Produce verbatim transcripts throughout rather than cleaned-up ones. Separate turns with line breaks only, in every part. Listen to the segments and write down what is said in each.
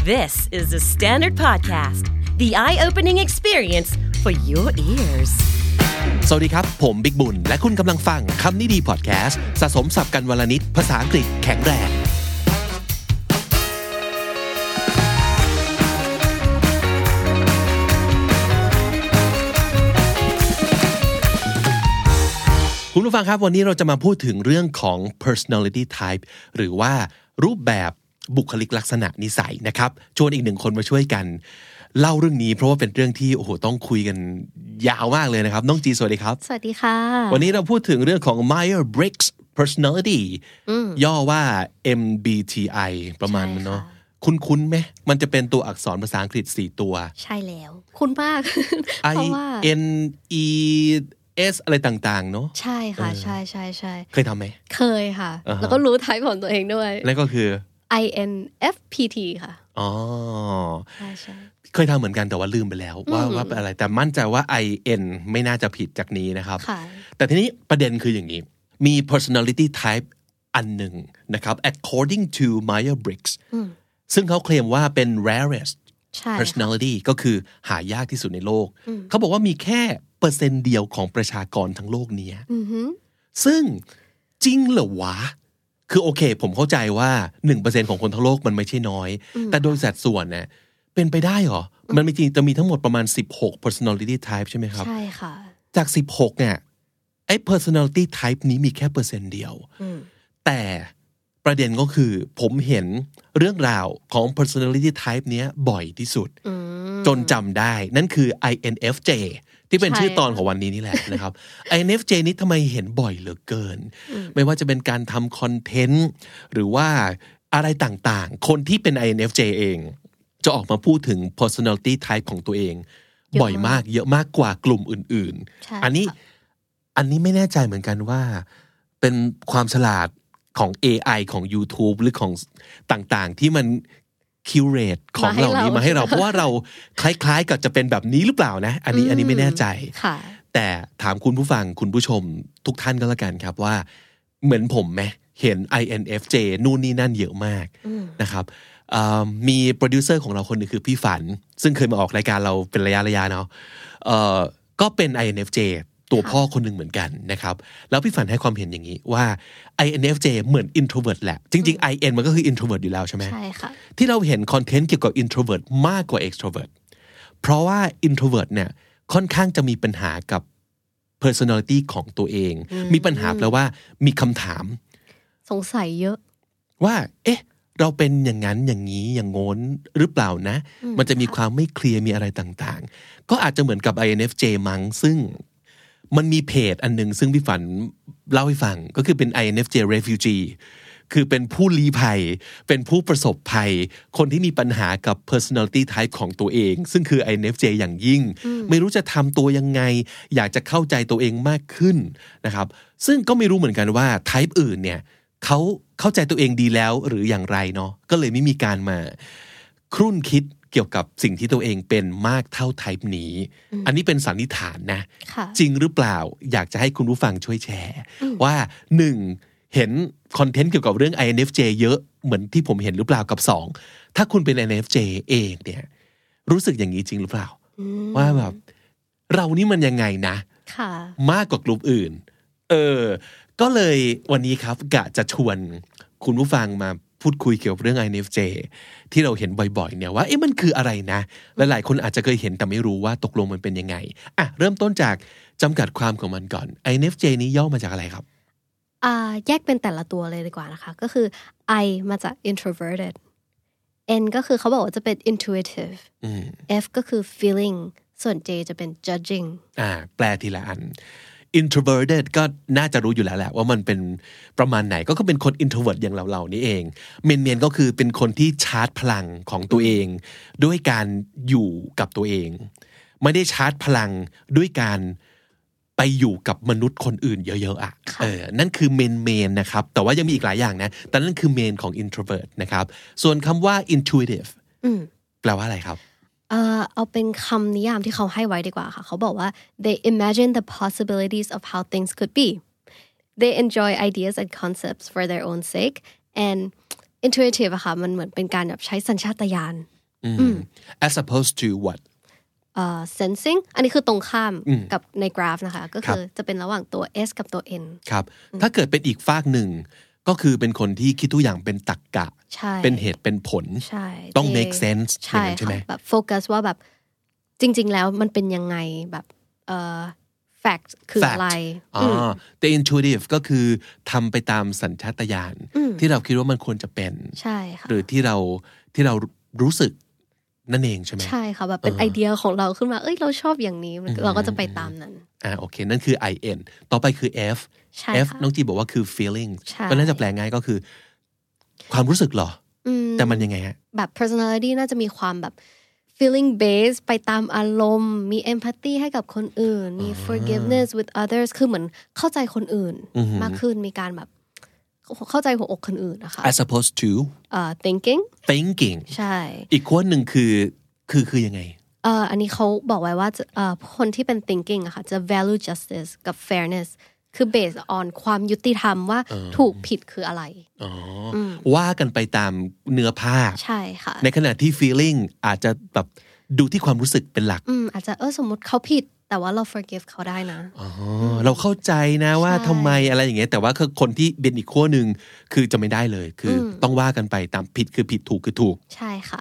This is the Standard Podcast, the eye-opening experience for your ears.
สวัสดีครับผมบิ๊กบุญและคุณกำลังฟังคำนี้ดีพอดแคสต์สะสมศัพท์กันวลนิดภาษาอังกฤษแข็งแรงคุณผู้ฟังครับวันนี้เราจะมาพูดถึงเรื่องของ personality type หรือว่ารูปแบบบุคลิกลักษณะนิสัยนะครับชวนอีกหนึ่งคนมาช่วยกันเล่าเรื่องนี้เพราะว่าเป็นเรื่องที่โอ้โหต้องคุยกันยาวมากเลยนะครับน้องจีสวัสดีครับ
สวัสดีค่ะ
วันนี้เราพูดถึงเรื่องของ Myers-Briggs personality ย่อว่า เอ็ม บี ที ไอ ประมาณนั้นเนาะคุ้นๆไหมมันจะเป็นตัวอักษรภาษาอังกฤษสี่ตัว
ใช่แล้วคุ้นมาก
I N E S อะไรต่างๆเนาะ
ใช่ค่ะใช่ใช่ใช่
เคยทำไหม
เคยค่ะ uh-huh. แล้วก็รู้ไทป์ของตัวเองด้วย
นั่นก็คือ
I N F P T ค่ะ
อ๋อ
ใช่ใช่
เคยทำเหมือนกันแต่ว่าลืมไปแล้วว่าว่าเป็นอะไรแต่มั่นใจว่า I N ไม่น่าจะผิดจากนี้นะครับแต่ทีนี้ประเด็นคืออย่างนี้มี personality type อันหนึ่งนะครับ according to Myers-Briggs ซึ่งเขาเคลมว่าเป็น rarest personality ก็คือหายากที่สุดในโลกเขาบอกว่ามีแค่เปอร์เซ็นต์เดียวของประชากรทั้งโลกนี้ซึ่งจริงเหรอวะคือโอเคผมเข้าใจว่า หนึ่งเปอร์เซ็นต์ ของคนทั้งโลกมันไม่ใช่น้อยแต่โดยสัดส่วนเนี่ยเป็นไปได้เหรอมันมีจริงจะมีทั้งหมดประมาณสิบหก personality type ใช่ไหมครับ
ใช่ค่ะ
จากสิบหกเนี่ยไอ้ personality type นี้มีแค่เปอร์เซ็นต์เดียวแต่ประเด็นก็คือผมเห็นเรื่องราวของ personality type เนี้ยบ่อยที่สุดจนจำได้นั่นคือ I N F J ที่เป็นชื่อตอนของวันนี้นี่แหละนะครับ I N F J นี้ทำไมเห็นบ่อยเหลือเกินไม่ว่าจะเป็นการทำคอนเทนต์หรือว่าอะไรต่างๆคนที่เป็น I N F J เองจะออกมาพูดถึง personality type ของตัวเองบ่อยมากเยอะมากกว่ากลุ่มอื่นๆอันนี้อันนี้ไม่แน่ใจเหมือนกันว่าเป็นความฉลาดของ เอ ไอ ของ YouTube หรือของต่างๆที่มันคิวเรตของเหล่านี้มาให้เราเพราะว่าเราคล้ายๆกับจะเป็นแบบนี้หรือเปล่านะอันนี้อันนี้ไม่แน่ใจแต่ถามคุณผู้ฟังคุณผู้ชมทุกท่านก็แล้วกันครับว่าเหมือนผมไหมเห็น I N F J นู่นนี่นั่นเยอะมากนะครับมีโปรดิวเซอร์ของเราคนนึงคือพี่ฝันซึ่งเคยมาออกรายการเราเป็นระยะระยะเนาะก็เป็น I N F J ตัวพ่อคนหนึ่งเหมือนกันนะครับแล้วพี่ฝันให้ความเห็นอย่างนี้ว่า I N F J เหมือน introvert แหละจริงๆ I N มันก็คือ introvert อยู่แล้วใช่ไหม
ใช่ค่ะ
ที่เราเห็นคอนเทนต์เกี่ยวกับ introvert มากกว่า extrovert เพราะว่า introvert เนี่ยค่อนข้างจะมีปัญหากับ personality ของตัวเองมีปัญหาแปลว่ามีคำถาม
สงสัยเยอะ
ว่าเอ๊ะเราเป็นอย่างนั้นอย่างนี้อย่างโน้นหรือเปล่านะมันจะมีความไม่เคลียร์มีอะไรต่างๆก็อาจจะเหมือนกับ I N F J มั้งซึ่งมันมีเพจอันนึงซึ่งพี่ฝันเล่าให้ฟังก็คือเป็น I N F J refugee คือเป็นผู้ลี้ภัยเป็นผู้ประสบภัยคนที่มีปัญหากับ personality type ของตัวเองซึ่งคือ I N F J อย่างยิ่งไม่รู้จะทำตัวยังไงอยากจะเข้าใจตัวเองมากขึ้นนะครับซึ่งก็ไม่รู้เหมือนกันว่า type อื่นเนี่ยเขาเข้าใจตัวเองดีแล้วหรืออย่างไรเนาะก็เลยไม่มีการมาครุ่นคิดเกี่ยวกับสิ่งที่ตัวเองเป็นมากเท่า type นี้อันนี้เป็นสันนิษฐานนะจริงหรือเปล่าอยากจะให้คุณผู้ฟังช่วยแชร์ว่าหนึ่งเห็นคอนเทนต์เกี่ยวกับเรื่อง I N F J เยอะเหมือนที่ผมเห็นหรือเปล่ากับสองถ้าคุณเป็น I N F J เองเนี่ยรู้สึกอย่างนี้จริงหรือเปล่าว่าแบบเรานี่มันยังไงนะมากกว่ากลุ่มอื่นเออก็เลยวันนี้ครับกะจะชวนคุณผู้ฟังมาพูดคุยเกี่ยวกับเรื่อง I N F J ที่เราเห็นบ่อยๆเนี่ยว่าเอ๊ะมันคืออะไรนะหลายๆคนอาจจะเคยเห็นแต่ไม่รู้ว่าตกลงมันเป็นยังไงอ่ะเริ่มต้นจากจำกัดความของมันก่อน I N F J นี้ย่อมาจากอะไรครับ
อ่าแยกเป็นแต่ละตัวเลยดีกว่านะคะก็คือ I มาจาก introverted N ก็คือเขาบอกว่าจะเป็น intuitive F ก็คือ feeling ส่วน J จะเป็น judging
อ่าแปลทีละอันintroverted ก็น่าจะรู้อยู่แล้วแหละว่ามันเป็นประมาณไหนก็คือเป็นคน introvert อย่างเราๆนี่เองเมนๆก็คือเป็นคนที่ชาร์จพลังของตัวเองด้วยการอยู่กับตัวเองไม่ได้ชาร์จพลังด้วยการไปอยู่กับมนุษย์คนอื่นเยอะๆอ่ะเออนั่นคือเมนๆนะครับแต่ว่ายังมีอีกหลายอย่างนะแต่นั่นคือเมนของ introvert นะครับส่วนคำว่า intuitive แปลว่าอะไรครับ
เอ่อเอาเป็นคำนิยามที่เขาให้ไว้ดีกว่าค่ะเขาบอกว่า they imagine the possibilities of how things could be they enjoy ideas and concepts for their own sake and intuitive อะค่ะมันเหมือนเป็นการแบบใช้สัญชาตญาณ
as opposed to what
uh, sensing อันนี้คือตรงข้ามกับในกราฟนะคะก็คือจะเป็นระหว่างตัว S กับตัว N
ครับถ้าเกิดเป็นอีกฝากหนึ่งก็คือเป็นคนที่คิดทุกอย่างเป็นตรรกะเป็นเหตุเป็นผลต้อง make sense
ใช่ใช่ไหมแบบโฟกัสว่าแบบจริงๆแล้วมันเป็นยังไงแบบเอ่อ fact คืออะไร
อ๋อแต่ intuitive ก็คือทำไปตามสัญชาตญาณที่เราคิดว่ามันควรจะเป็น
ใช่ค่ะ
หรือที่เราที่เรารู้สึกนั่นเองใช่ไหม
ใช่ค่ะแบบเป็นไอเดียของเราขึ้นมาเอ้ยเราชอบอย่างนี้เราก็จะไปตามนั้น
อ่าโอเคนั่นคือ I N ต่อไปคือ F F น้องจีบอกว่าคือ feeling ก็น่าจะแปลง่ายก็คือความรู้สึกหรอแต่มันยังไงฮะ
แบบ personality น่าจะมีความแบบ feeling based ไปตามอารมณ์มี empathy ให้กับคนอื่นมี forgiveness with others คือเหมือนเข้าใจคนอื่นมากขึ้นมีการแบบเข้าใจหัวอกคนอื่นนะคะ
as opposed to
uh, thinking
thinking
ใช่
อีกคนหนึ่งคือคือคือยังไง
เอ่ออันนี้เขาบอกไว้ว่าเอ่อคนที่เป็น thinking อะค่ะจะ value justice กับ fairness คือ based on ความยุติธรรมว่าถูกผิดคืออะไร
อ๋อว่ากันไปตามเนื้อผ้า
ใช่ค่ะ
ในขณะที่ feeling อาจจะแบบดูที่ความรู้สึกเป็นหลัก
อืมอาจจะเออสมมติเขาผิดแต่ว่าเรา forgive เขาได้นะ
อ๋อเราเข้าใจนะว่าทำไมอะไรอย่างเงี้ยแต่ว่าคือคนที่เป็นอีกขั้วหนึ่งคือจะไม่ได้เลยคือต้องว่ากันไปตามผิดคือผิดถูกคือถูก
ใช่ค่ะ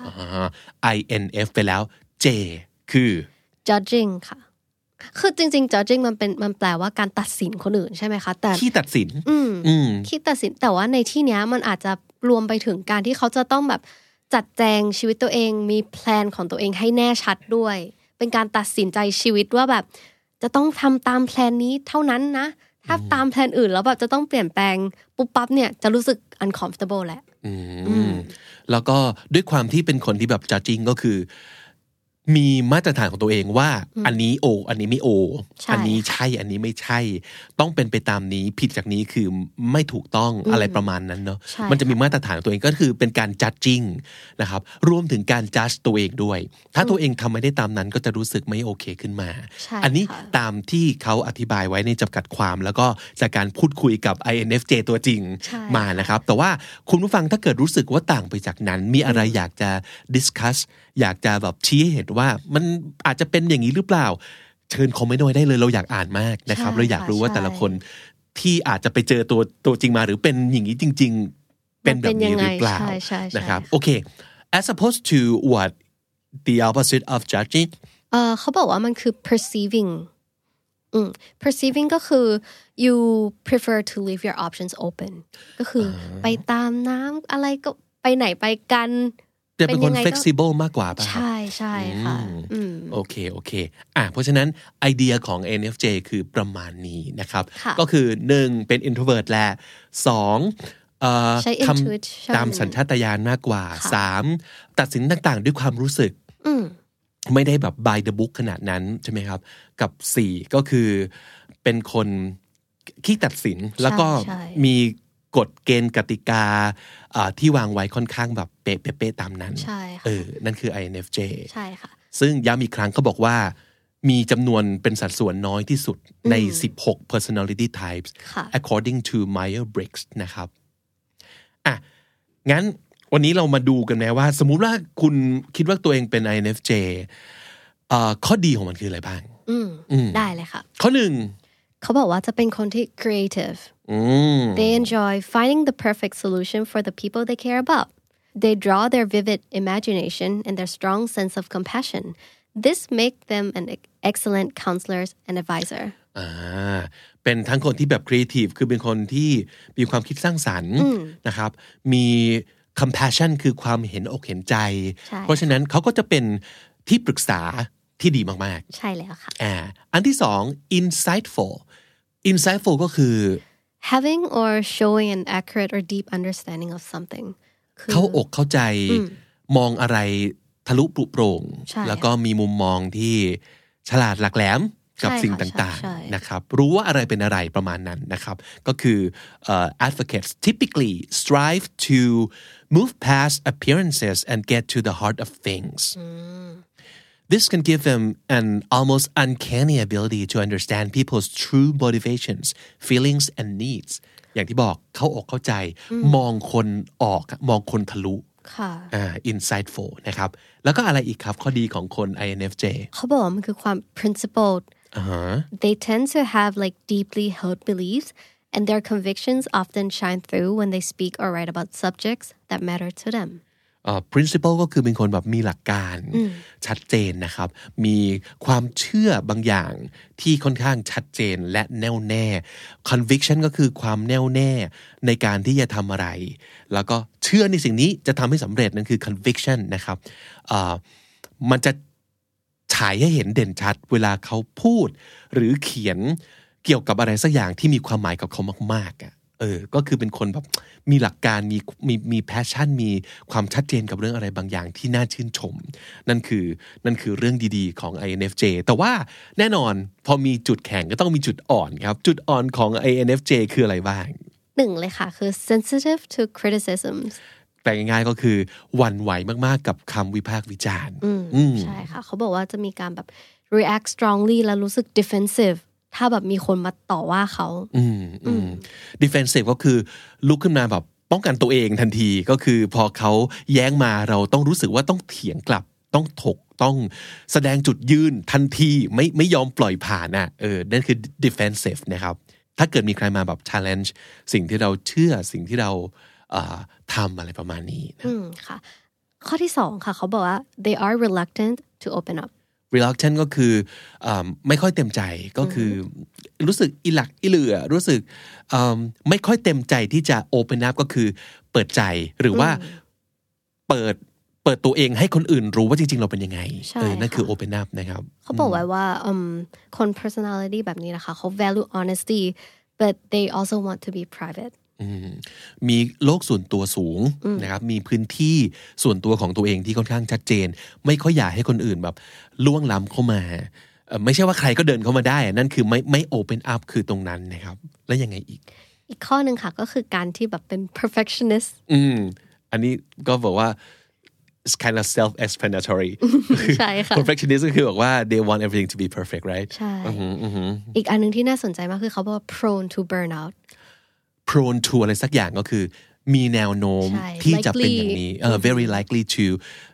I N F ไปแล้ว J คือ
judging ค่ะคือจริงๆ judging มันเป็นมันแปลว่าการตัดสินคนอื่นใช่ไหมคะแต่
ขี้ตัดสิน
อืมอืมขี้ตัดสินแต่ว่าในที่เนี้ยมันอาจจะรวมไปถึงการที่เขาจะต้องแบบจัดแจงชีวิตตัวเองมีแพลนของตัวเองให้แน่ชัดด้วยเป็นการตัดสินใจชีวิตว่าแบบจะต้องทำตามแพลนนี้เท่านั้นนะถ้าตามแพลนอื่นแล้วแบบจะต้องเปลี่ยนแปลงปุ๊บปั๊บเนี่ยจะรู้สึก uncomfortable แหละ
อืมแล้วก็ด้วยความที่เป็นคนที่แบบ judging ก็คือมีมาตรฐานของตัวเองว่าอันนี้โออันนี้ไม่โออันนี้ใช่อันนี้ไม่ใช่ต้องเป็นไปตามนี้ผิดจากนี้คือไม่ถูกต้องอะไรประมาณนั้นเนาะมันจะมีมาตรฐานของตัวเองก็คือเป็นการ judging นะครับรวมถึงการ judge ตัวเองด้วยถ้าตัวเองทำไม่ได้ตามนั้นก็จะรู้สึกไม่โอเคขึ้นมาอันนี้ตามที่เขาอธิบายไว้ในจำกัดความแล้วก็จากการพูดคุยกับ ไอ เอ็น เอฟ เจ ตัวจริงมานะครับแต่ว่าคุณผู้ฟังถ้าเกิดรู้สึกว่าต่างไปจากนั้นมีอะไรอยากจะ discuss อยากจะแบบชี้ให้เห็นว่ามันอาจจะเป็นอย่างนี้หรือเปล่าเชิญคอมเมนต์ไว้ได้เลยเราอยากอ่านมากนะครับเราอยากรู้ว่าแต่ละคนที่อาจจะไปเจอตัวตัวจริงมาหรือเป็นอย่างนี้จริงๆเป็นแบบนี้หรือเปล่านะครับโอเค as opposed to what the opposite of judging
เอ่อเขาบอกว่ามันคือ perceiving อืม perceiving ก็คือ you prefer to leave your options open ก็คือไปตามน้ำอะไรก็ไปไหนไปกัน
จะเป็นคน flexible มากกว่าป่ะ
ใช่ใช่ค่ะ
โอเคโอเคอ่ะเพราะฉะนั้นไอเดียของ เอ็น เอฟ เจ คือประมาณนี้นะครับก็คือหนึ่งเป็น introvert และสองทำตามสัญชาตญาณมากกว่าสามตัดสินต่างๆด้วยความรู้สึกไม่ได้แบบ by the book ขนาดนั้นใช่ไหมครับกับสี่ก็คือเป็นคนขี้ตัดสินแล้วก็มีกฎเกณฑ์กติกาที่วางไว้ค่อนข้างแบบเป๊ะๆตามนั้น
ใช่ค่ะ
เออนั่นคือ ไอ เอ็น เอฟ เจ
ใช่ค่ะ
ซึ่งย้ำอีกครั้งเขาบอกว่ามีจำนวนเป็นสัดส่วนน้อยที่สุดในสิบหก personality types according to Myers-Briggs นะครับอ่ะงั้นวันนี้เรามาดูกันนะว่าสมมุติว่าคุณคิดว่าตัวเองเป็น ไอ เอ็น เอฟ เจ อ่าข้อดีของมันคืออะไรบ้าง
อืมได้เลยค่ะ
ข้อหนึ่ง
เขาบอกว่าจะเป็นคนที่ creative they enjoy finding the perfect solution for the people they care about they draw their vivid imagination and their strong sense of compassion this make them an excellent counselors and advisor
อ่าเป็นทั้งคนที่แบบ creative คือเป็นคนที่มีความคิดสร้างสรรค์นะครับมี compassion คือความเห็นอกเห็นใจเพราะฉะนั้นเขาก็จะเป็นที่ปรึกษาที่ดีมาก
ๆใช่แล้วค่ะ
อ่าอันที่สอง insightful insightful ก็คือ
having or showing an accurate or deep understanding of something
เข้าอกเข้าใจมองอะไรทะลุปลุกโปร่งแล้วก็มีมุมมองที่ฉลาดหลักแหลมกับสิ่งต่างๆนะครับรู้ว่าอะไรเป็นอะไรประมาณนั้นนะครับก็คือ uh, advocates typically strive to move past appearances and get to the heart of things This can give them an almost uncanny ability to understand people's true motivations, feelings, and needs. อย่างที่บอกเข้าอกเข้าใจมองคนออกมองคนทะลุ
ค่ะ
อ่า insightful นะครับแล้วก็อะไรอีกครับข้อดีของคน ไอ เอ็น เอฟ เจ
เขาบอกว่ามันคือความ principled
uh-huh.
they tend to have like deeply held beliefs and their convictions often shine through when they speak or write about subjects that matter to them
Uh, principle ก็คือเป็นคนแบบมีหลักการชัดเจนนะครับมีความเชื่อบางอย่างที่ค่อนข้างชัดเจนและแน่วแน่ conviction ก็คือความแน่วแน่ในการที่จะทำอะไรแล้วก็เชื่อในสิ่งนี้จะทำให้สำเร็จนั่นคือ conviction นะครับ uh, มันจะฉายให้เห็นเด่นชัดเวลาเขาพูดหรือเขียนเกี่ยวกับอะไรสักอย่างที่มีความหมายกับเขามากๆอ่ะเออก็คือเป็นคนแบบมีหลักการมีมีมีแพชชั่นมีความชัดเจนกับเรื่องอะไรบางอย่างที่น่าชื่นชมนั่นคือนั่นคือเรื่องดีๆของ ไอ เอ็น เอฟ เจ แต่ว่าแน่นอนพอมีจุดแข็งก็ต้องมีจุดอ่อนครับจุดอ่อนของ ไอ เอ็น เอฟ เจ คืออะไรบ้าง
หนึ่งเลยค่ะคือ sensitive to criticisms
แปลง่ายๆก็คือหวั่นไหวมากๆกับคำวิพากษ์วิจารณ์
ใช่ค่ะเขาบอกว่าจะมีการแบบ react strongly แล้วรู้สึก defensiveถ้าแบบมีคนมาต่อว่าเขา
อืมอืม defensive ก็คือลุกขึ้นมาแบบป้องกันตัวเองทันทีก็คือพอเขาแย้งมาเราต้องรู้สึกว่าต้องเถียงกลับต้องถกต้องแสดงจุดยืนทันทีไม่ไม่ยอมปล่อยผ่านน่ะเออนั่นคือ defensive นะครับถ้าเกิดมีใครมาแบบ challenge สิ่งที่เราเชื่อสิ่งที่เราเอ่อทำอะไรประมาณนี้นะ
อืมค่ะข้อที่สองค่ะเขาบอกว่า they are reluctant to open up
reluctant ก็คือไม่ค่อยเต็มใจก็คือรู้สึกอิหลักอิเหลือรู้สึกไม่ค่อยเต็มใจที่จะ open up ก็คือเปิดใจหรือว่าเปิดเปิดตัวเองให้คนอื่นรู้ว่าจริงๆเราเป็นยังไงเออนั่นคือ open up นะครับ
เขาบอกไว้ว่าคน personality แบบนี้นะคะเขา value honesty but they also want to be private
มีโลกส่วนตัวสูงนะครับมีพื้นที่ส่วนตัวของตัวเองที่ค่อนข้างชัดเจนไม่ค่อยอยากให้คนอื่นแบบล่วงล้ำเข้ามาไม่ใช่ว่าใครก็เดินเข้ามาได้นั่นคือไม่ไม่ open up คือตรงนั้นนะครับแล้วยังไงอีก
อีกข้อหนึ่งค่ะก็คือการที่แบบเป็น perfectionist
อืมอันนี้ก็บอกว่า it's kind of self-explanatory
ใช่ค่ะ
perfectionist ก็คือบอกว่า they want everything to be perfect right
ใช่อีกอันนึงที่น่าสนใจมากคือเขาบอกว่า prone to burnout
prone to อะไรสักอย่างก็คือมีแนวโน้มที่จะเป็นอย่างนี้ uh, very likely to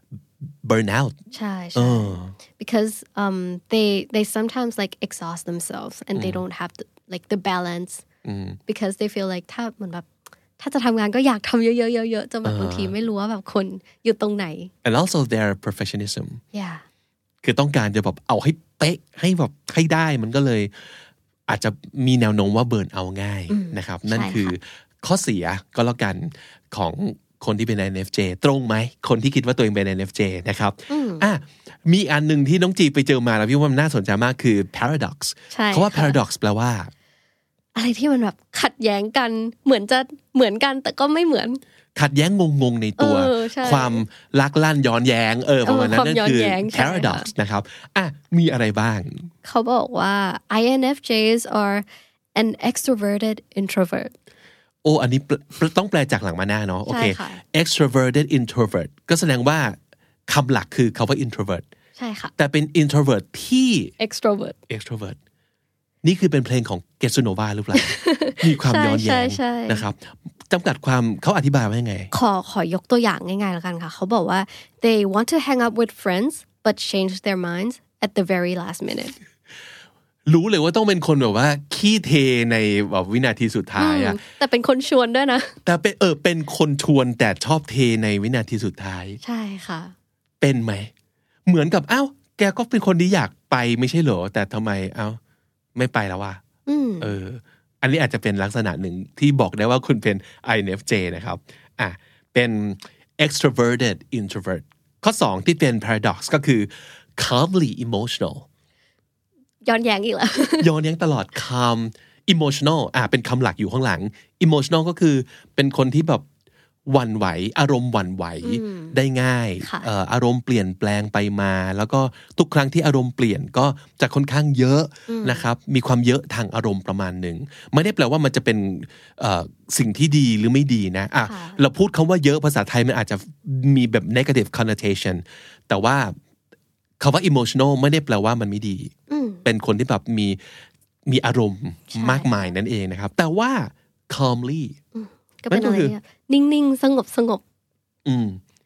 burn out
ใช่ใช่ because um they they sometimes like exhaust themselves and they don't have the, like the balance because they feel like ถ้าเหมือนแบบถ้าจะทำงานก็อยากทำเยอะๆเยอะๆจนแบบบางทีไม่รู้ว่าแบบคนอยู่ตรงไหน
and also their perfectionism
yeah
คือต้องการจะแบบเอาให้เป๊ะให้แบบให้ได้มันก็เลยอาจจะมีแนวโน้มว่าเบิร์นเอาง่ายนะครับนั่นคือข้อเสียก็แล้วกันของคนที่เป็น ไอ เอ็น เอฟ เจ ตรงไหมคนที่คิดว่าตัวเองเป็น ไอ เอ็น เอฟ เจ นะครับอ่ะมีอันนึงที่น้องจีไปเจอมาแล้วพี่ว่ามันน่าสนใจมากคือ paradox เพราะว่า paradox แปลว่า
อะไรที่มันแบบขัดแย้งกันเหมือนจะเหมือนกันแต่ก็ไม่เหมือน
ขัดแย้งงงๆในตัวความลักลั่นย้อนแย้งเออประมาณนั้นนั่นคือ paradox นะครับอ่ะมีอะไรบ้าง
เขาบอกว่า ไอ เอ็น เอฟ เจ's are an extroverted introvert
โอ้อันนี้ต้องแปลจากหลังมาหน้าเนาะโอเค extroverted introvert ก็แสดงว่าคำหลักคือคำว่า introvert
ใช่ค่ะ
แต่เป็น introvert ที่
extrovert
extrovert นี่คือเป็นเพลงของเกสโนวาหรือเปล่า มีความย้อนแย้งนะครับจำกัดความเขาอธิบายว่ายังไง
ขอขอยกตัวอย่างง่ายๆแล้วกันค่ะเขาบอกว่า they want to hang out with friends but change their minds at the very last minute
รู้เลยว่าต้องเป็นคนแบบว่าขี้เทในแบบวินาทีสุดท้ายอะ
แต่เป็นคนชวนด้วยนะ
แต่เป็นเออเป็นคนชวนแต่ชอบเทในวินาทีสุดท้าย
ใช่ค่ะ
เป็นไหมเหมือนกับอ้าวแกก็เป็นคนที่อยากไปไม่ใช่เหรอแต่ทำไมเอ้าไม่ไปแล้ววะเอออันนี้อาจจะเป็นลักษณะหนึ่งที่บอกได้ว่าคุณเป็น ไอ เอ็น เอฟ เจ นะครับอ่ะเป็น extroverted introvert ข้อสองที่เป็น paradox ก็คือ calmly emotional
ย้อนแย้งอีกแล้ว
ย้อนแย้งตลอด calm emotional อ่ะเป็นคำหลักอยู่ข้างหลัง emotional ก็คือเป็นคนที่แบบหวั่นไหวอารมณ์หวั่นไหวได้ง่ายอารมณ์เปลี่ยนแปลงไปมาแล้วก็ทุกครั้งที่อารมณ์เปลี่ยนก็จะค่อนข้างเยอะนะครับมีความเยอะทางอารมณ์ประมาณหนึ่งไม่ได้แปลว่ามันจะเป็นสิ่งที่ดีหรือไม่ดีนะอ่ะเราพูดคำว่าเยอะภาษาไทยมันอาจจะมีแบบ negative connotation แต่ว่าคำว่า emotional ไม่ได้แปลว่ามันไม่ดีเป็นคนที่แบบมีมีอารมณ์มากมายนั่นเองนะครับแต่ว่า calmly
ก็เป็นอะไรเนี่ยนิ่งๆสงบสงบ
อืม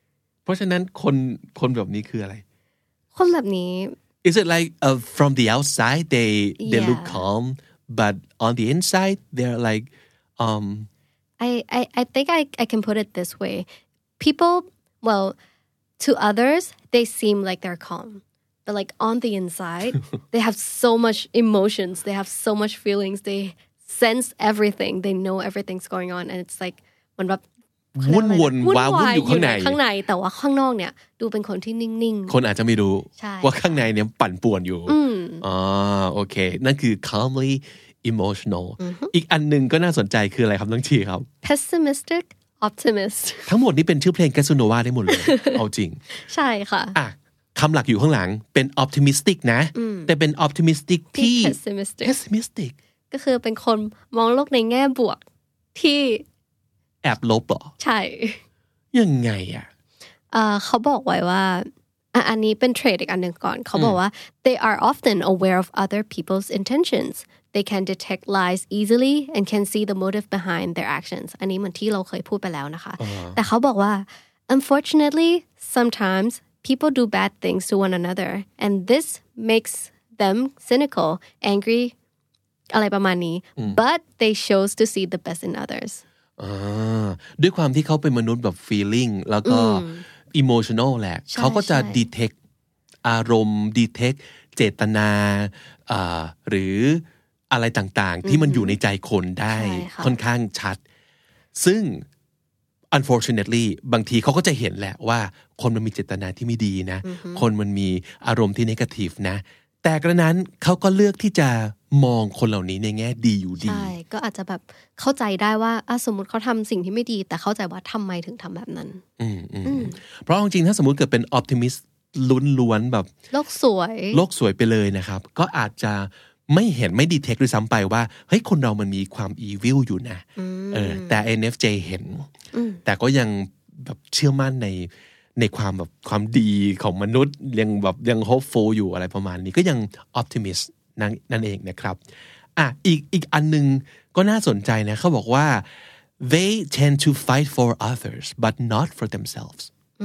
เพราะฉะนั้นคนคนแบบนี้คืออะไร
คนแบบนี้
Is it like uh, from the outside they they
yeah.
look calm but on the inside they're like um
I I I think I I can put it this way people well to others they seem like they're calm but like on the inside they have so much emotions they have so much feelings they sense everything they know everything's going on and it's like มันแบบ
วุ่นวนว้าวุ่นอยู่ข้างใน
ข้างในแต่ว่าข้างนอกเนี่ยดูเป็นคนที่นิ่ง
ๆคนอาจจะไม่รู้ว่าข้างในเนี่ยปั่นป่วนอยู่อ๋อโอเคนั่นคือ calmly emotional อีกอันนึงก็น่าสนใจคืออะไรครับน้องชีครับ
pessimistic optimist
ทั้งหมดนี้เป็นชื่อเพลง Casanova ได้หมดเลยเอาจริง
ใช่ค่ะ
อ่ะคำหลักอยู่ข้างหลังเป็น optimistic นะแต่เป็น optimistic ที่
pessimistic
pessimistic
ก็คือเป็นคนมองโลกในแง่บวกที่
แอบลบเหรอ
ใช่
ยังไงอ่ะ
เอ่อเขาบอกไว้ว่าอันนี้เป็นเทรดอีกอันหนึ่งก่อนเขาบอกว่า they are often aware of other people's intentions they can detect lies easily and can see the motive behind their actions อันนี้เหมือนที่เราเคยพูดไปแล้วนะคะแต่เขาบอกว่า unfortunately sometimes people do bad things to one another and this makes them cynical angry อะไรประมาณนี้ but they chose to see the best in others
ด้วยความที่เขาเป็นมนุษย์แบบ feeling แล้วก็ emotional แหละเขาก็จะ detect อารมณ์ detect เจตนาหรืออะไรต่างๆที่มันอยู่ในใจคนได้ค่อนข้างชัดซึ่ง unfortunately บางทีเขาก็จะเห็นแหละว่าคนมันมีเจตนาที่ไม่ดีนะคนมันมีอารมณ์ที่ negative นะแต่กระนั้นเขาก็เลือกที่จะมองคนเหล่านี้ในแง่ดีอยู่ดี
ใช่ก็อาจจะแบบเข้าใจได้ว่าสมมุติเขาทำสิ่งที่ไม่ดีแต่เข้าใจว่าทำไมถึงทำแบบนั้น
อืมอืมเพราะจริงๆถ้าสมมุติเกิดเป็น optimist ล้วนๆแบบ
โลกสวย
โลกสวยไปเลยนะครับก็อาจจะไม่เห็นไม่ดีเทคด้วยซ้ำไปว่าเฮ้ยคนเรามันมีความ evil อยู่นะเออแต่ เอ็น เอฟ เจ เห็นแต่ก็ยังแบบเชื่อมั่นในในความแบบความดีของมนุษย์ยังแบบยัง hopeful อยู่อะไรประมาณนี้ก็ยัง optimist นั่นนั่นเองนะครับอ่ะอีกอีกอันนึงก็น่าสนใจนะเขาบอกว่า they tend to fight for others but not for themselves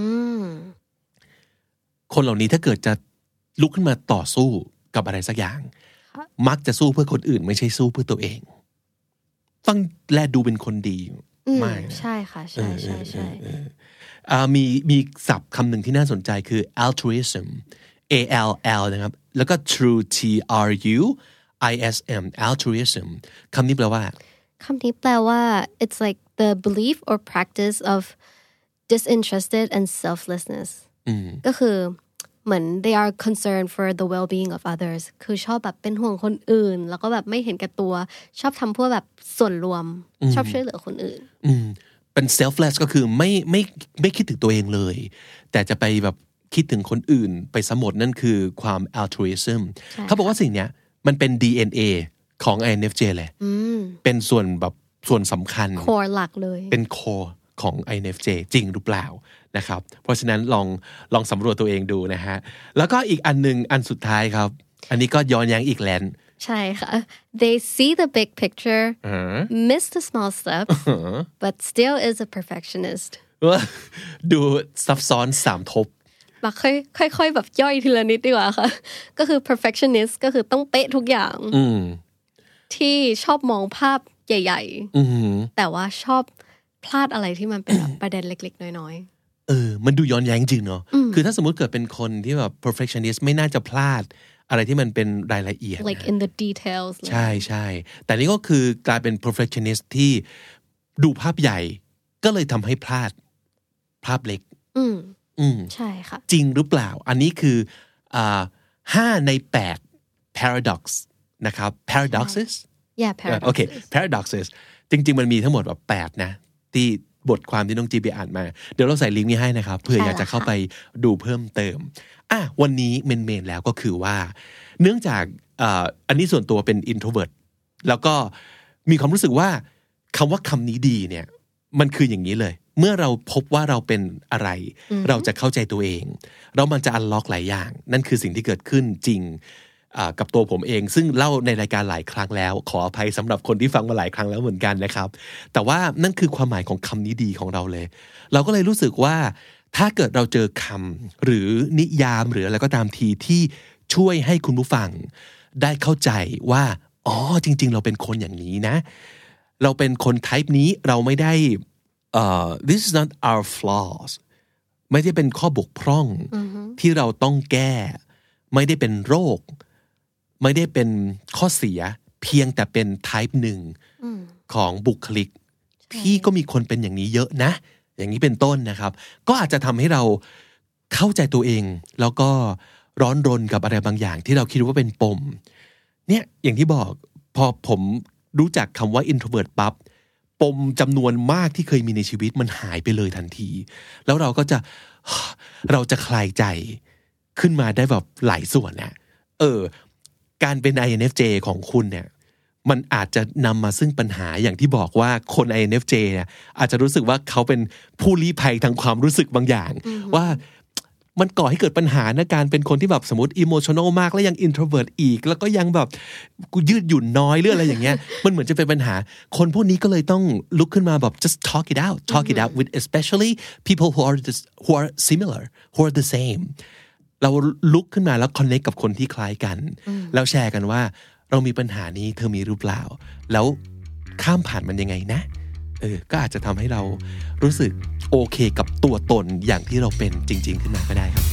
คนเหล่านี้ถ้าเกิดจะลุกขึ้นมาต่อสู้กับอะไรสักอย่างมักจะสู้เพื่อคนอื่นไม่ใช่สู้เพื่อตัวเองฟังและดูเป็นคนดีไม่
ใช่ค่ะใช่ใช่ใช่
มีมีศัพท์คำหนึ่งที่น่าสนใจคือ altruism A L L นะครับแล้วก็ true T R U I S M altruism คำนี้แปลว่า
คำนี้แปลว่า it's like the belief or practice of disinterested and selflessness ก็คือเหมือน they are concerned for the well-being of others คือชอบแบบเป็นห่วงคนอื่นแล้วก็แบบไม่เห็นแก่ตัวชอบทำเพื่อแบบส่วนรวมชอบช่วยเหลือคนอื่น
เป็น selfless ก็คือไม่ไม่ไม่คิดถึงตัวเองเลยแต่จะไปแบบคิดถึงคนอื่นไปสมดนั่นคือความ altruism เขาบอกว่าสิ่งเนี้ยมันเป็น ดี เอ็น เอ ของ ไอ เอ็น เอฟ เจ เลยเป็นส่วนแบบส่วนสำคัญ
core หลักเลย
เป็น core ของ ไอ เอ็น เอฟ เจ จริงหรือเปล่านะครับเพราะฉะนั้นลองลองสำรวจตัวเองดูนะฮะแล้วก็อีกอันนึงอันสุดท้ายครับอันนี้ก็ย้อนแย้งอีกแลน
ใช่ค่ะ they see the big picture miss the small steps but still is a perfectionist
ดูซับซ้อนสามทบ
มาค่อยค่อยๆแบบย่อยทีละนิดดีกว่าค่ะก็คือ perfectionist ก็คือต้องเป๊ะทุกอย่างที่ชอบมองภาพใหญ่ๆแต่ว่าชอบพลาดอะไรที่มันเป็นแบบประเด็นเล็กๆน้อย
ๆเออมันดูย้อนแย้งจริงเนาะคือถ้าสมมุติเกิดเป็นคนที่แบบ perfectionist ไม่น่าจะพลาดอะไรที่มันเป็นรายละเอียด
like in the details
ใช่ใช่แต่นี่ก็คือกลายเป็น perfectionist ที่ดูภาพใหญ่ก็เลยทำให้พลาดภาพเล็ก
อืมอืมใช่ค่ะ
จริงหรือเปล่าอันนี้คืออ่าห้าในแปด paradox นะครับ paradoxes
yeah paradoxes
โอเค paradoxes จริงๆมันมีทั้งหมดแบบแปดนะที่บทความที่น้องจีไปอ่านมาเดี๋ยวเราใส่ลิงก์นี้ให้นะครับเผื่ออยากจะเข้าไปดูเพิ่มเติมอ่ะวันนี้เมนๆแล้วก็คือว่าเนื่องจากอ่าอันนี้ส่วนตัวเป็น introvert แล้วก็มีความรู้สึกว่าคำว่าคำนี้ดีเนี่ยมันคืออย่างนี้เลยเมื่อเราพบว่าเราเป็นอะไรเราจะเข้าใจตัวเองแล้วมันจะอันล็อกหลายอย่างนั่นคือสิ่งที่เกิดขึ้นจริงกับตัวผมเองซึ่งเล่าในรายการหลายครั้งแล้วขออภัยสำหรับคนที่ฟังมาหลายครั้งแล้วเหมือนกันนะครับแต่ว่านั่นคือความหมายของคำนี้ดีของเราเลยเราก็เลยรู้สึกว่าถ้าเกิดเราเจอคำหรือนิยามหรืออะไรก็ตามทีที่ช่วยให้คุณผู้ฟังได้เข้าใจว่าอ๋อจริงๆเราเป็นคนอย่างนี้นะเราเป็นคน type นี้เราไม่ได้Uh, this is not our flaws ไม่ได้เป็นข้อบกพร่อง mm-hmm. ที่เราต้องแก้ไม่ได้เป็นโรคไม่ได้เป็นข้อเสียเพียงแต่เป็น type หนึ่ง mm. ของบุคลิก okay. ที่ก็มีคนเป็นอย่างนี้เยอะนะอย่างนี้เป็นต้นนะครับก็อาจจะทำให้เราเข้าใจตัวเองแล้วก็ร้อนรนกับอะไรบางอย่างที่เราคิดว่าเป็นปมเนี่ยอย่างที่บอกพอผมรู้จักคำว่า introvert ปั๊บปมจำนวนมากที่เคยมีในชีวิตมันหายไปเลยทันทีแล้วเราก็จะเราจะคลายใจขึ้นมาได้แบบหลายส่วนนะเออการเป็น ไอ เอ็น เอฟ เจ ของคุณเนี่ยมันอาจจะนำมาซึ่งปัญหาอย่างที่บอกว่าคน ไอ เอ็น เอฟ เจ เนี่ยอาจจะรู้สึกว่าเขาเป็นผู้ลี้ภัยทางความรู้สึกบางอย่าง mm-hmm. ว่ามันก่อให้เกิดปัญหาในการเป็นคนที่แบบสมมติ emotional มากแล้วยัง introvert อีกแล้วก็ยังแบบกูยืดหยุ่นน้อยหรืออะไรอย่างเงี้ย มันเหมือนจะเป็นปัญหาคนพวกนี้ก็เลยต้องลุกขึ้นมาแบบ just talk it out talk it out with especially people who are just, who are similar who are the same เราลุกขึ้นมาแล้ว connect กับคนที่คล้ายกันแล้วแชร์กันว่าเรามีปัญหานี้เธอมีหรือเปล่าแล้วข้ามผ่านมันยังไงนะเออก็อาจจะทำให้เรารู้สึกโอเคกับตัวตนอย่างที่เราเป็นจริงๆขึ้นมาก็ได้ครับ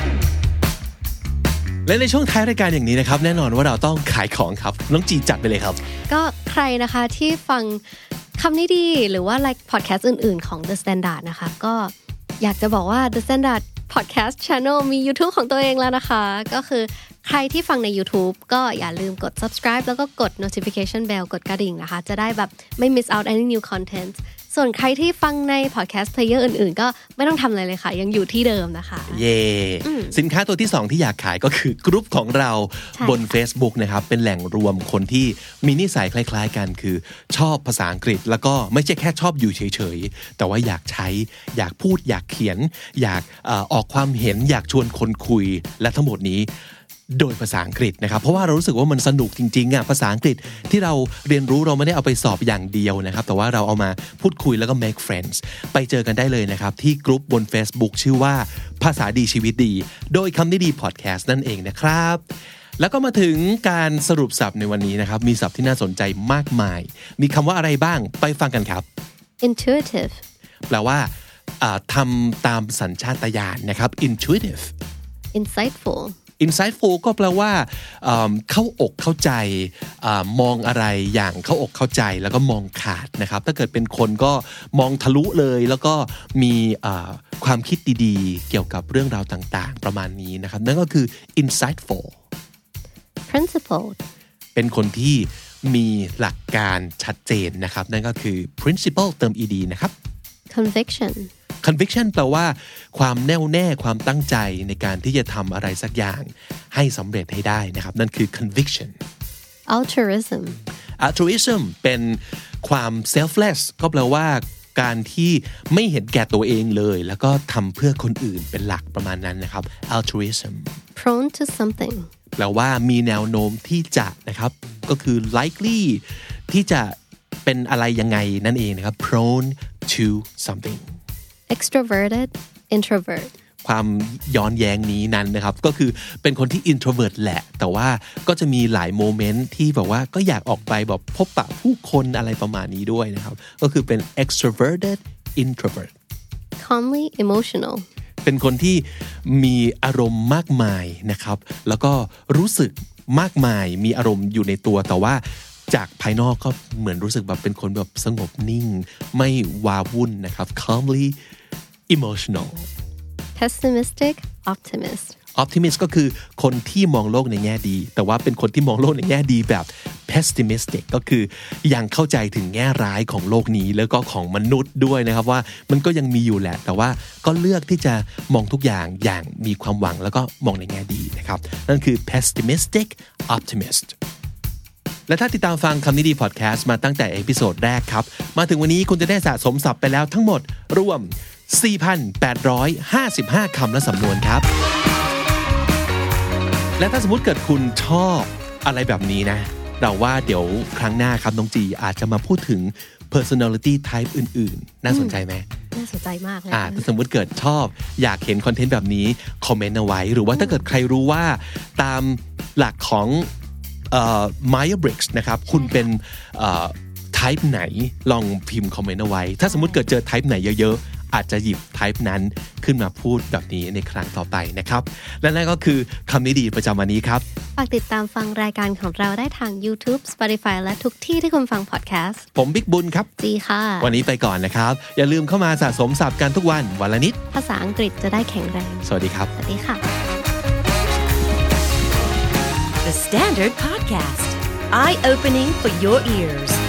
และในช่วงท้ายรายการอย่างนี้นะครับแน่นอนว่าเราต้องขายของครับน้องจีจัดไปเลยครับ
ก็ใครนะคะที่ฟังคำนี้ดีหรือว่า like podcast อื่นๆของ The Standard นะคะก็อยากจะบอกว่า The Standard Podcast Channel มี YouTube ของตัวเองแล้วนะคะก็คือใครที่ฟังใน YouTube ก็อย่าลืมกด subscribe แล้วก็กด notification bell กดกระดิ่งนะคะจะได้แบบไม่ miss out any new content ส่วนใครที่ฟังใน podcast player อื่นๆก็ไม่ต้องทำอะไรเลยค่ะยังอยู่ที่เดิมนะคะ
เย่สินค้าตัวที่สองที่อยากขายก็คือกรุ๊ปของเราบน Facebook นะครับเป็นแหล่งรวมคนที่มีนิสัยคล้ายๆกันคือชอบภาษาอังกฤษแล้วก็ไม่ใช่แค่ชอบอยู่เฉยๆแต่ว่าอยากใช้อยากพูดอยากเขียนอยากเอ่อออกความเห็นอยากชวนคนคุยและทั้งหมดนี้โดยภาษาอังกฤษนะครับเพราะว่าเรารู้สึกว่ามันสนุกจริงๆอ่ะภาษาอังกฤษที่เราเรียนรู้เราไม่ได้เอาไปสอบอย่างเดียวนะครับแต่ว่าเราเอามาพูดคุยแล้วก็ make friends ไปเจอกันได้เลยนะครับที่กลุ่มบน Facebook ชื่อว่าภาษาดีชีวิตดีโดยคำนี้ดีพอดแคสต์นั่นเองนะครับแล้วก็มาถึงการสรุปศัพท์ในวันนี้นะครับมีศัพท์ที่น่าสนใจมากมายมีคำว่าอะไรบ้างไปฟังกันครับ
intuitive
แปลว่าทำตามสัญชาตญาณนะครับ intuitive
insightful
insightful ก็แปลว่าเข้าอกเข้าใจมองอะไรอย่างเข้าอกเข้าใจแล้วก็มองขาดนะครับถ้าเกิดเป็นคนก็มองทะลุเลยแล้วก็มีความคิดดีๆเกี่ยวกับเรื่องราวต่างๆประมาณนี้นะครับนั่นก็คือ insightful
principled
เป็นคนที่มีหลักการชัดเจนนะครับนั่นก็คือ principle เติม ed นะครับ
conviction
conviction แปลว่าความแน่วแน่ความตั้งใจในการที่จะทำอะไรสักอย่างให้สำเร็จให้ได้นะครับนั่นคือ conviction
altruism
altruism เป็นความ selfless ก็แปลว่าการที่ไม่เห็นแก่ตัวเองเลยแล้วก็ทำเพื่อคนอื่นเป็นหลักประมาณนั้นนะครับ altruism
prone to something
แปลว่ามีแนวโน้มที่จะนะครับก็คือ likely ที่จะเป็นอะไรยังไงนั่นเองนะครับ prone to something
extroverted introvert
ความย้อนแย้งนี้นั้นนะครับก็คือเป็นคนที่ introvert แหละแต่ว่าก็จะมีหลายโมเมนต์ที่แบบว่าก็อยากออกไปแบบพบปะผู้คนอะไรประมาณนี้ด้วยนะครับก็คือเป็น extroverted introvert
calmly emotional
เป็นคนที่มีอารมณ์มากมายนะครับแล้วก็รู้สึกมากมายมีอารมณ์อยู่ในตัวแต่ว่าจากภายนอกก็เหมือนรู้สึกแบบเป็นคนแบบสงบนิ่งไม่วาวุ่นนะครับ calmly emotional
pessimistic optimist
optimist ก็คือคนที่มองโลกในแง่ดีแต่ว่าเป็นคนที่มองโลกในแง่ดีแบบ pessimistic ก็คือยังเข้าใจถึงแง่ร้ายของโลกนี้แล้วก็ของมนุษย์ด้วยนะครับว่ามันก็ยังมีอยู่แหละแต่ว่าก็เลือกที่จะมองทุกอย่างอย่างมีความหวังแล้วก็มองในแง่ดีนะครับนั่นคือ pessimistic optimistและถ้าติดตามฟังคำนี้ดีพอดแคสต์มาตั้งแต่เอพิโซดแรกครับมาถึงวันนี้คุณจะได้สะสมศัพท์ไปแล้วทั้งหมดรวม สี่พันแปดร้อยห้าสิบห้า คำและสำนวนครับและถ้าสมมติเกิดคุณชอบอะไรแบบนี้นะเราว่าเดี๋ยวครั้งหน้าครับน้องจีอาจจะมาพูดถึง personality type อื่นๆน่าสนใจไหม
น่าสนใจมากเลย
อ่าสมมุติเกิดชอบอยากเห็นคอนเทนต์แบบนี้คอมเมนต์เอาไว้หรือว่าถ้าเกิดใครรู้ว่าตามหลักของเอ่อ Myers-Briggs นะครับคุณเป็นเอ่อ type ไหนลองพิมพ์คอมเมนต์เอาไว้ถ้าสมมุติเกิดเจอ type ไหนเยอะๆอาจจะหยิบ type นั้นขึ้นมาพูดแบบนี้ในครั้งต่อไปนะครับและนั่นก็คือคำนี้ดีประจำวันนี้ครับ
ฝากติดตามฟังรายการของเราได้ทาง YouTube Spotify และทุกที่ที่คุณฟังพอดแคสต์
ผมบิ๊กบุญครับ
จีค่ะ
วันนี้ไปก่อนนะครับอย่าลืมเข้ามาสะสมศัพท์กันทุกวันวันละนิด
ภาษาอังกฤษจะได้แข็งแรง
สวัสดีครับ
สวัสดีค่ะ
The Standard Podcast Eye Opening for Your Ears